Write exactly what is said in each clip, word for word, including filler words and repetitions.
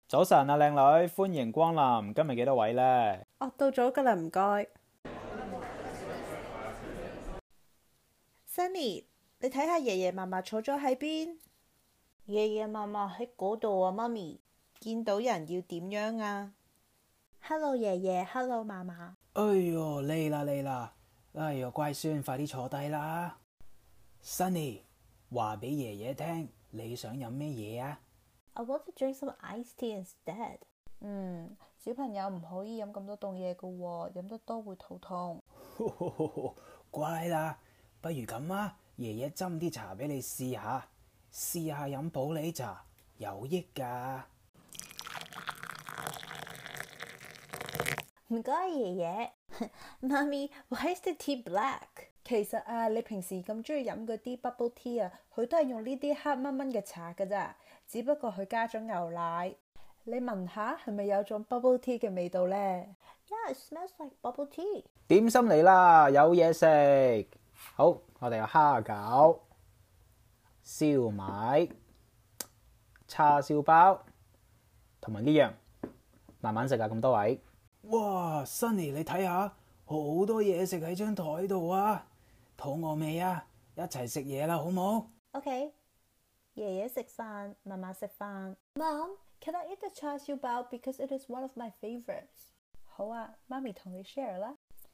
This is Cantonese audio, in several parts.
早晨啊，靚女，歡迎光臨。今日幾多位呢？ 哦，到咗㗎喇，唔該。Sunny，你睇下爺爺嫲嫲坐咗喺邊？爺爺嫲嫲喺嗰度啊，媽咪。見到人要點樣啊 ？Hello，爺爺 ，Hello，嫲嫲。 哎喲，嚟啦嚟啦！哎喲，乖孫，快啲坐低啦。Sunny，話俾爺爺聽，你想飲咩嘢啊？ I want to drink some iced tea instead。嗯，小朋友唔可以飲咁多凍嘢㗎喎，飲得多會肚痛。 乖啦，不如咁啊，爺爺斟啲茶俾你試下，試下飲普洱茶，有益㗎。 唔該，爺爺。媽咪，Why is the tea black？ 其實啊，你平時咁中意飲嗰啲 bubble tea 啊，佢都係用呢啲黑蚊蚊嘅茶㗎咋，只不過佢加咗牛奶。你聞下係咪有種 bubble tea 嘅味道呢？ Yeah, it smells like bubble tea。 點心嚟啦，有嘢食。好，我哋有蝦餃、燒賣、叉燒包同埋呢樣，慢慢食啊，咁多位。 哇 ，Sunny，你睇下，好多嘢食喺張台度啊！肚餓未啊？一齊食嘢啦，好冇 ？OK， 爺爺食飯，嫲嫲食飯。Mom，can I eat the 叉燒包 because it is one of my favorites？ 好啊，媽咪同你 share 啦。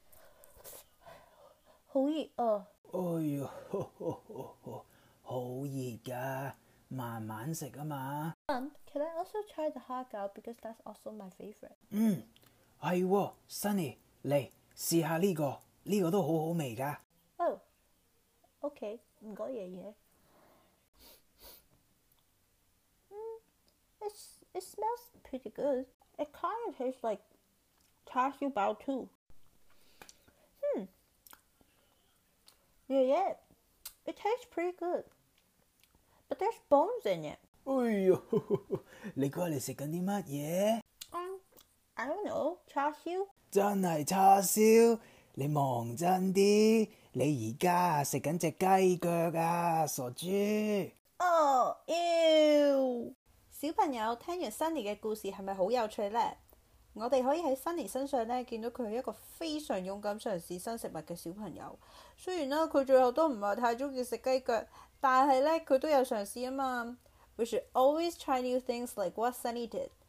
好熱啊！ 哎喲，好熱㗎，慢慢食啊嘛。 Mom，can I also try the 蝦餃 because that's also my favorite？ 嗯，係喎 ，Sunny，嚟試下呢個，呢個都好好味㗎。 哦 ，OK， 唔該爺爺。It, it smells pretty good. It kind of tastes like 叉燒包 too. Hmm. Yeah, yeah. It tastes pretty good. But there's bones in it. 哎喲，你估你食緊啲乜嘢？ 嗯 I don't know. 叉燒？ 真係叉燒？你望真啲，你而家食緊隻雞腳啊，傻豬！ 哦，妖！小朋友聽完 Sunny 嘅故事係咪好有趣呢？我哋可以喺 Sunny 身上咧見到佢係一個非常勇敢嘗試新食物嘅小朋友。雖然啦，佢最後都唔係太中意食雞腳，但係咧佢都有嘗試啊嘛。We should always try new things like what Sunny did.